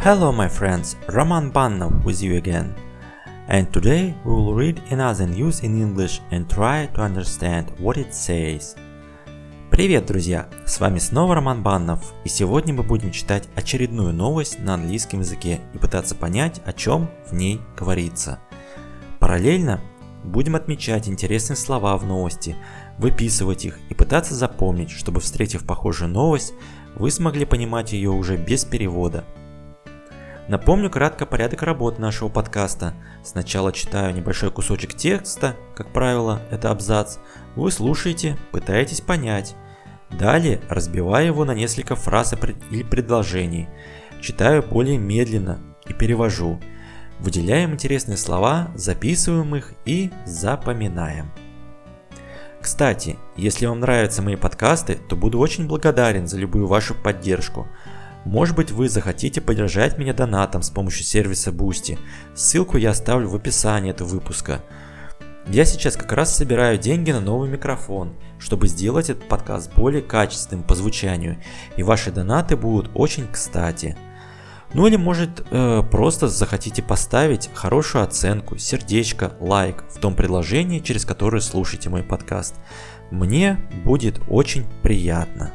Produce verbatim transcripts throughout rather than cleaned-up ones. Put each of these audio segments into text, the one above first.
Hello my friends, Roman Bannov with you again. And today we will read another news in English and try to understand what it says. Привет, друзья! С вами снова Роман Баннов, и сегодня мы будем читать очередную новость на английском языке и пытаться понять, о чем в ней говорится. Параллельно будем отмечать интересные слова в новости, выписывать их и пытаться запомнить, чтобы, встретив похожую новость, вы смогли понимать ее уже без перевода. Напомню кратко порядок работы нашего подкаста. Сначала читаю небольшой кусочек текста, как правило, это абзац. Вы слушаете, пытаетесь понять. Далее разбиваю его на несколько фраз или предложений. Читаю более медленно и перевожу. Выделяем интересные слова, записываем их и запоминаем. Кстати, если вам нравятся мои подкасты, то буду очень благодарен за любую вашу поддержку. Может быть, вы захотите поддержать меня донатом с помощью сервиса Boosty. Ссылку я оставлю в описании этого выпуска. Я сейчас как раз собираю деньги на новый микрофон, чтобы сделать этот подкаст более качественным по звучанию, и ваши донаты будут очень кстати. Ну или может э, просто захотите поставить хорошую оценку, сердечко, лайк в том приложении, через которое слушаете мой подкаст. Мне будет очень приятно.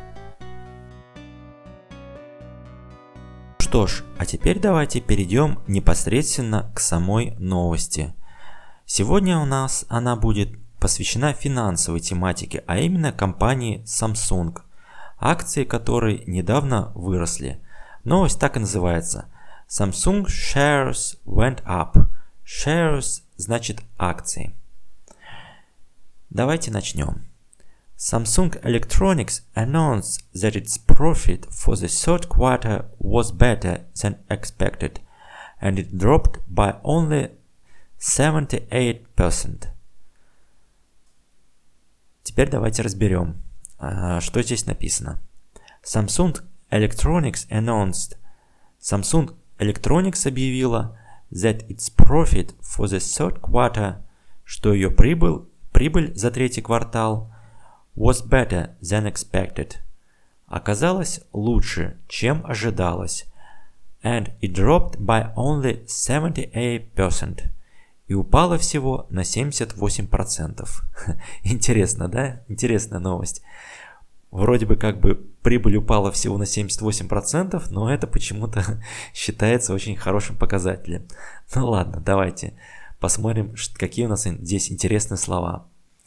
Что ж, а теперь давайте перейдем непосредственно к самой новости. Сегодня у нас она будет посвящена финансовой тематике, а именно компании Samsung, акции которой недавно выросли. Новость так и называется. Samsung shares went up. Shares значит акции. Давайте начнем. Samsung Electronics announced that its profit for the third quarter was better than expected, and it dropped by only seventy-eight percent. Теперь давайте разберем, что здесь написано. Samsung Electronics announced, Samsung Electronics объявила that its profit for the third quarter, что ее прибыль, прибыль за третий квартал was better than expected. Оказалось лучше, чем ожидалось. And it dropped by only seventy-eight percent. И упало всего на семьдесят восемь процентов. Интересно, да? Интересная новость. Вроде бы как бы прибыль упала всего на семьдесят восемь процентов, но это почему-то считается очень хорошим показателем. Ну ладно, давайте посмотрим, какие у нас здесь интересные слова.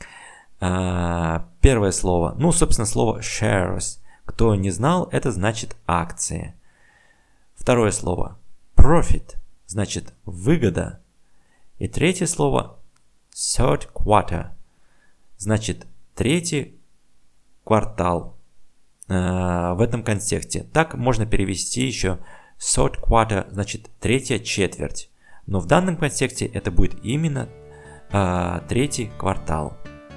Первое слово, ну, собственно, слово shares. Кто не знал, это значит акции. Второе слово profit, значит выгода. И третье слово third quarter, значит третий квартал. В этом контексте. Так можно перевести еще third quarter, значит третья четверть. Но в данном контексте это будет именно а, третий квартал.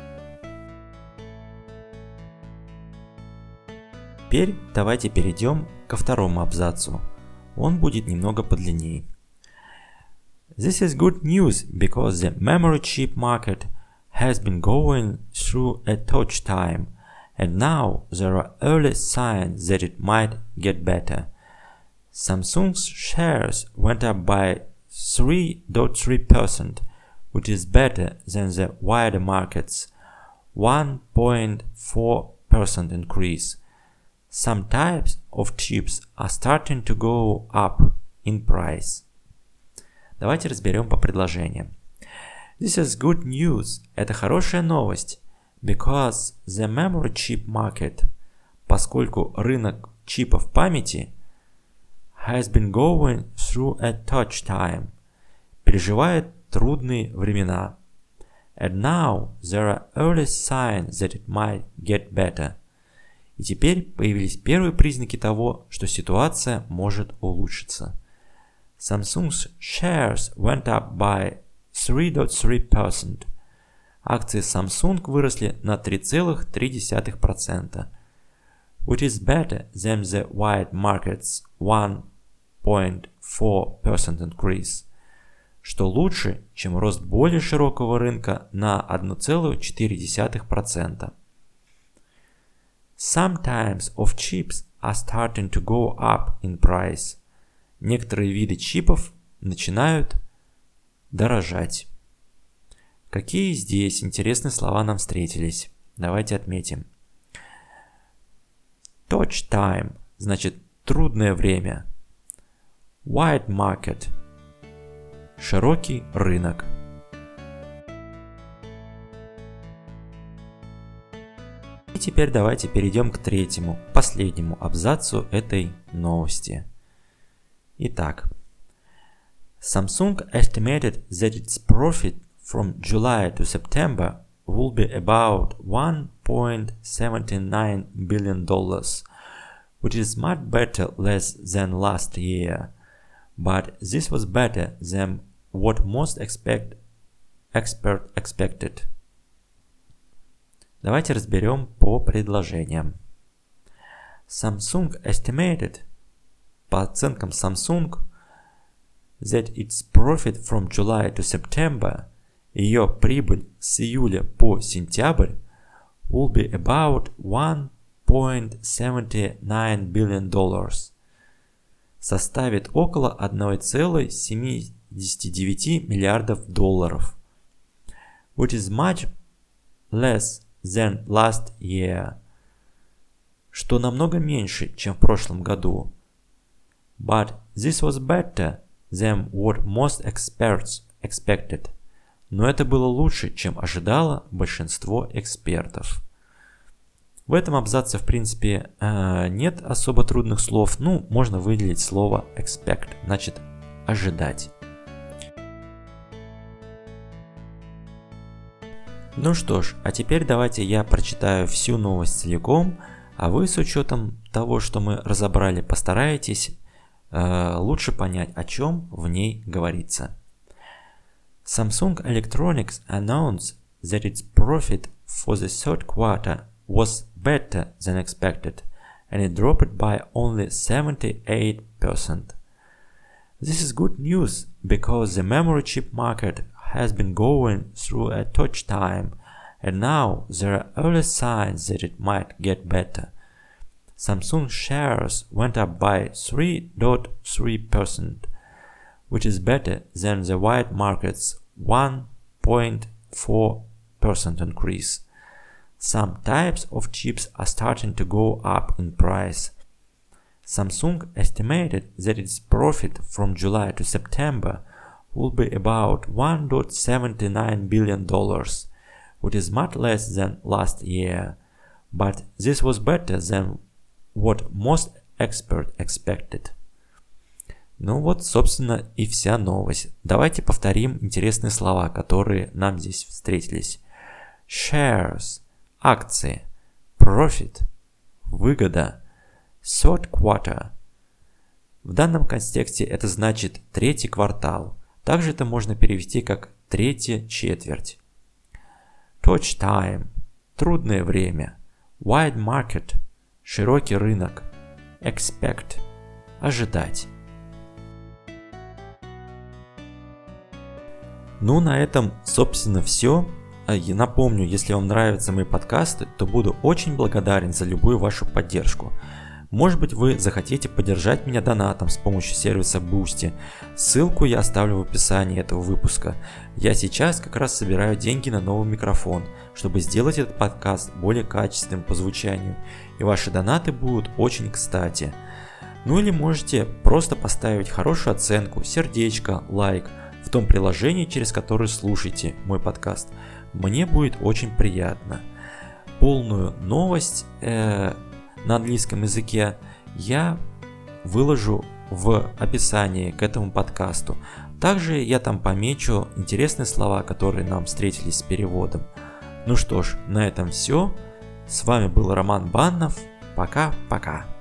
Теперь давайте перейдем ко второму абзацу. Он будет немного подлиннее. This is good news because the memory chip market has been going through a tough time, and now there are early signs that it might get better. Samsung's shares went up by three point three percent, which is better than the wider market's one point four percent increase. Some types of chips are starting to go up in price. Давайте разберем по предложениям. This is good news. Это хорошая новость. Because the memory chip market, поскольку рынок чипов памяти, has been going through a tough time, переживает трудные времена. And now there are early signs that it might get better. И теперь появились первые признаки того, что ситуация может улучшиться. Samsung's shares went up by three point three percent. Акции Samsung выросли на три целых три десятых процента. Which is better than the wide market's one point four percent increase. Что лучше, чем рост более широкого рынка на одна целая четыре десятых процента. Some types of chips are starting to go up in price. некоторые виды чипов начинают дорожать. Какие здесь интересные слова нам встретились? Давайте отметим. Touch time значит трудное время. Wide market – широкий рынок. И теперь давайте перейдем к третьему, последнему абзацу этой новости. Итак, Samsung estimated that its profit from July to September will be about one point seven nine billion dollars, which is much better less than last year, but this was better than what most expect, expert expected. Давайте разберем по предложениям. Samsung estimated, по оценкам Samsung, that its profit from July to September, ее прибыль с июля по сентябрь, will be about one point seven nine billion dollars, составит около one point seven nine миллиардов долларов, which is much less than last year, что намного меньше, чем в прошлом году. But this was better than what most experts expected. Но это было лучше, чем ожидало большинство экспертов. В этом абзаце, в принципе, нет особо трудных слов. Ну, можно выделить слово expect, значит ожидать. Ну что ж, а теперь давайте я прочитаю всю новость целиком, а вы с учетом того, что мы разобрали, постарайтесь э, лучше понять, о чем в ней говорится. Samsung Electronics announced that its profit for the third quarter was better than expected, and it dropped by only seventy-eight percent. This is good news because the memory chip market has been going through a tough time, and now there are early signs that it might get better. Samsung shares went up by three point three percent, which is better than the wide market's one point four percent increase. Some types of chips are starting to go up in price. Samsung estimated that its profit from July to September will be about one point seven nine billion dollars, which is much less than last year, but this was better than what most experts expected. Ну вот, собственно, и вся новость. Давайте повторим интересные слова, которые нам здесь встретились. Shares – акции, profit – выгода, third quarter – в данном контексте это значит третий квартал. Также это можно перевести как третья четверть. Touch time – трудное время. Wide market – широкий рынок. Expect – ожидать. Ну, на этом, собственно, все. Я напомню, если вам нравятся мои подкасты, то буду очень благодарен за любую вашу поддержку. Может быть, вы захотите поддержать меня донатом с помощью сервиса Boosty. Ссылку я оставлю в описании этого выпуска. Я сейчас как раз собираю деньги на новый микрофон, чтобы сделать этот подкаст более качественным по звучанию. И ваши донаты будут очень кстати. Ну или можете просто поставить хорошую оценку, сердечко, лайк в том приложении, через которое слушаете мой подкаст. Мне будет очень приятно. Полную новость э, на английском языке я выложу в описании к этому подкасту. Также я там помечу интересные слова, которые нам встретились с переводом. Ну что ж, на этом все. С вами был Роман Баннов. Пока-пока.